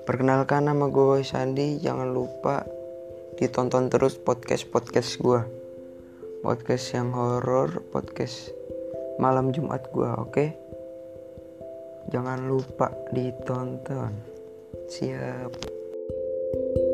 Perkenalkan, nama gue Sandi. Jangan lupa ditonton terus podcast gue, podcast yang horor, podcast malam Jumat gue. Oke, jangan lupa ditonton. Siap.